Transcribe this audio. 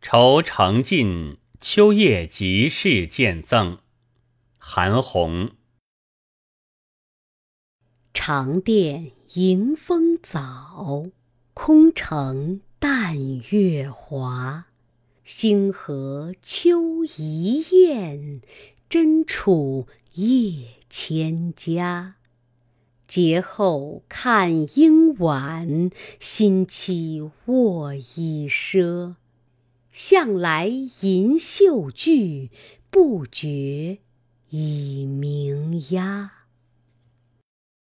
愁成尽，秋夜即事见赠。韩翃。 长殿迎风早，空城淡月华。星河秋一雁，真处夜千家。节后看应晚，新期卧已奢。向来银袖句，不觉已鸣鸦。